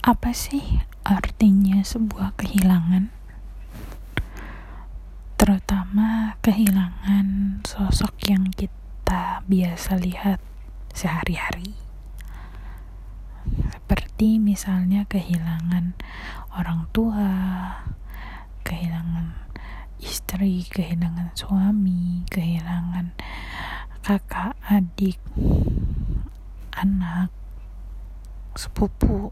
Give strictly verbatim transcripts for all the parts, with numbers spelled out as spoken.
Apa sih artinya sebuah kehilangan? Terutama kehilangan sosok yang kita biasa lihat sehari-hari. Seperti misalnya kehilangan orang tua, kehilangan istri, kehilangan suami, kehilangan kakak, adik, anak, sepupu.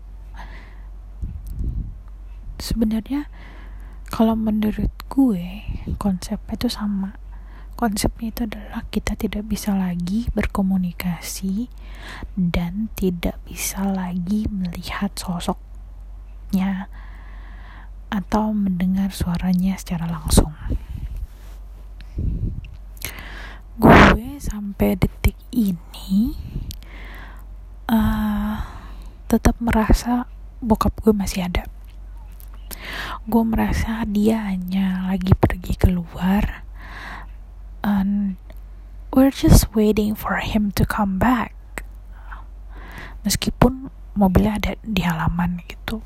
Sebenarnya kalau menurut gue konsepnya itu sama. Konsepnya itu adalah kita tidak bisa lagi berkomunikasi dan tidak bisa lagi melihat sosoknya atau mendengar suaranya secara langsung. Gue sampai detik ini uh, tetap merasa bokap gue masih ada. Gue merasa dia hanya lagi pergi keluar and we're just waiting for him to come back, meskipun mobilnya ada di halaman gitu.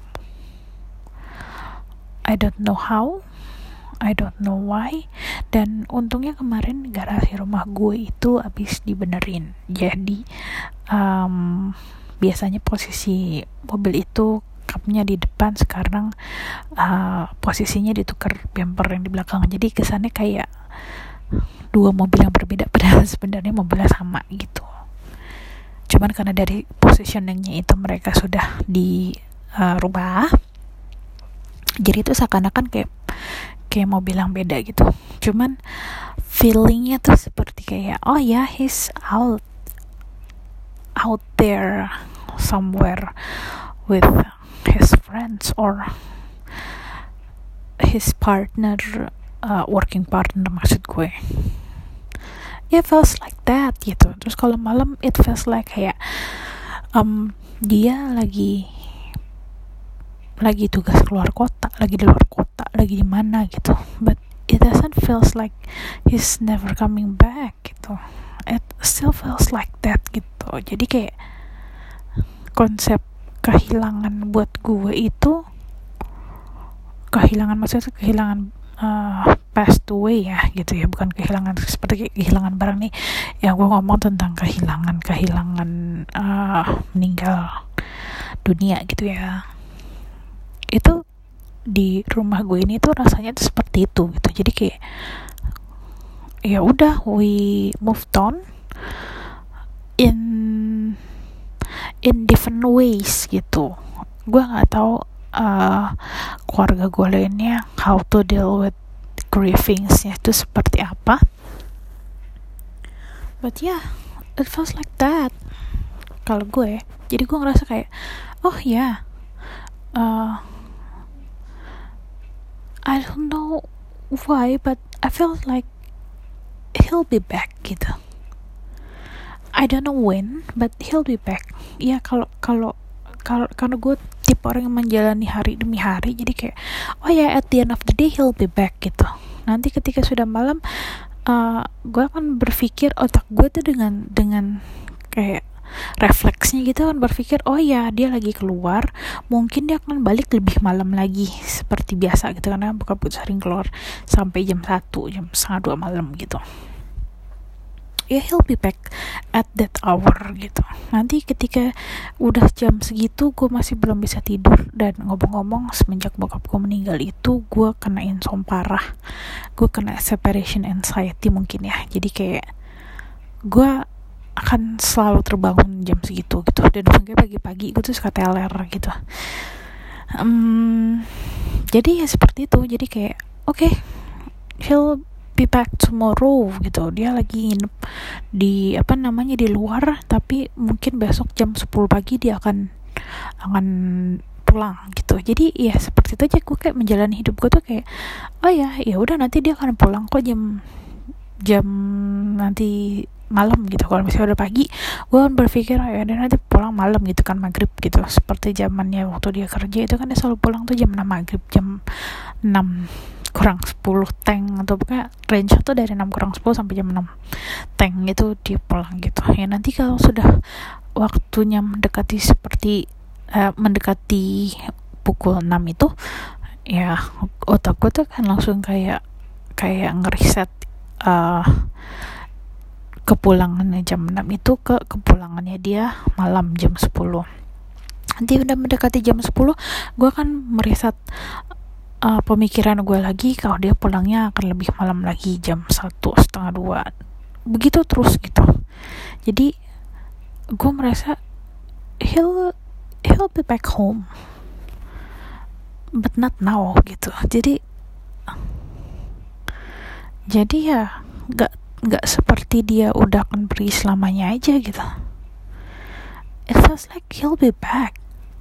I don't know how, I don't know why. Dan untungnya kemarin garasi rumah gue itu habis dibenerin. Jadi um, biasanya posisi mobil itu kapnya di depan, sekarang uh, posisinya ditukar bumper yang di belakang. Jadi kesannya kayak dua mobil yang berbeda, padahal sebenarnya mobilnya sama gitu. Cuman karena dari positioningnya itu mereka sudah dirubah, uh, jadi itu seakan-akan kayak kayak mobil yang beda gitu. Cuman feelingnya tuh seperti kayak oh ya, yeah, he's out out there somewhere with his friends or his partner, uh, working partner maksud gue. It feels like that gitu. Terus kalau malam it feels like kayak um, dia lagi lagi tugas keluar kota, lagi di luar kota, lagi di mana gitu. But it doesn't feels like he's never coming back gitu. It still feels like that gitu. Jadi kayak konsep kehilangan buat gue itu, kehilangan maksudnya kehilangan uh, passed away ya gitu ya, bukan kehilangan seperti kehilangan barang nih ya. Gue ngomong tentang kehilangan kehilangan uh, meninggal dunia gitu ya. Itu di rumah gue ini tuh rasanya tuh seperti itu gitu. Jadi kayak ya udah, we moved on in in different ways gitu. Gue nggak tahu uh, keluarga gue lainnya how to deal with grievings-nya itu seperti apa. But yeah, it feels like that kalau gue. Jadi gue ngerasa kayak oh ya, yeah, uh, I don't know why, but I feel like he'll be back gitu. I don't know when, but he'll be back. Ya kalau kalau kalau karena gue tipe orang yang menjalani hari demi hari, jadi kayak oh ya, yeah, at the end of the day he'll be back gitu. Nanti ketika sudah malam, uh, gue akan berpikir, otak gue tuh dengan dengan kayak refleksnya gitu kan berpikir oh ya, dia lagi keluar, mungkin dia akan balik lebih malam lagi seperti biasa gitu, karena bokap gue sering keluar sampai jam satu, jam setengah dua malam gitu. Ya, yeah, he'll be back at that hour gitu. Nanti ketika udah jam segitu gue masih belum bisa tidur. Dan ngomong-ngomong, semenjak bokap gue meninggal itu gue kena insomnia parah. Gue kena separation anxiety mungkin ya. Jadi kayak gue akan selalu terbangun jam segitu gitu. Dan mungkin pagi-pagi gue tuh suka teler gitu. um, Jadi ya seperti itu. Jadi kayak oke, okay, he'll be back tomorrow gitu. Dia lagi nginep di apa namanya di luar, tapi mungkin besok jam sepuluh pagi dia akan akan pulang gitu. Jadi ya seperti itu aja. Gue kayak menjalani hidup gue tuh kayak oh ya, ya udah nanti dia akan pulang kok jam jam nanti malam gitu. Kalau misalnya udah pagi, gue kan berpikir oh ya dia nanti pulang malam gitu kan, maghrib gitu. Seperti zamannya waktu dia kerja itu kan dia selalu pulang tuh jam enam maghrib, jam enam kurang sepuluh tank, atau pokoknya range tuh dari enam kurang sepuluh sampai jam enam tank itu dia pulang gitu. Ya nanti kalau sudah waktunya mendekati seperti uh, mendekati pukul enam itu ya otak gue tuh kan langsung kayak kayak ngeriset uh, kepulangannya jam enam itu ke kepulangannya dia malam jam sepuluh. Nanti udah mendekati jam sepuluh gue kan meriset uh, pemikiran gue lagi kalau dia pulangnya akan lebih malam lagi jam satu setengah dua, begitu terus gitu. Jadi gue merasa he'll he'll be back home but not now gitu. Jadi jadi ya nggak nggak seperti dia udah akan pergi selamanya aja gitu. It feels like he'll be back.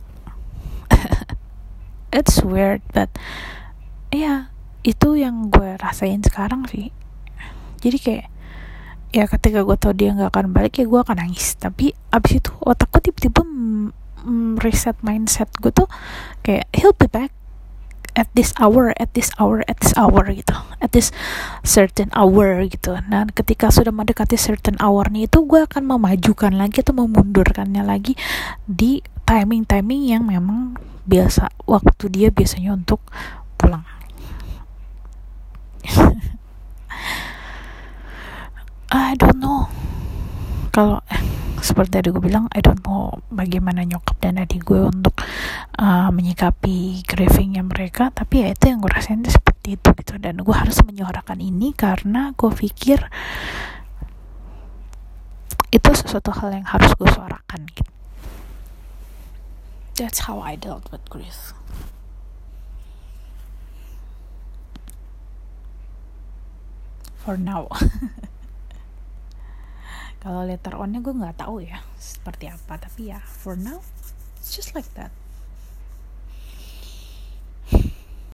It's weird but ya yeah, itu yang gue rasain sekarang sih. Jadi kayak ya ketika gue tau dia nggak akan balik ya gue akan nangis, tapi abis itu otak gue tiba-tiba mm, reset mindset gue tuh kayak he'll be back at this hour, at this hour, at this hour gitu, at this certain hour gitu. Nah ketika sudah mendekati certain hour nih itu gue akan memajukan lagi atau memundurkannya lagi di timing-timing yang memang biasa waktu dia biasanya untuk pulang. I don't know kalau eh, seperti tadi gue bilang, I don't know bagaimana nyokap dan adik gue untuk uh, menyikapi grievingnya mereka, tapi ya itu yang gue rasain seperti itu gitu. Dan gue harus menyuarakan ini karena gue pikir itu sesuatu hal yang harus gue suarakan gitu. That's how I dealt with grief. For now. Kalau later on-nya gue nggak tahu ya seperti apa, tapi ya for now it's just like that.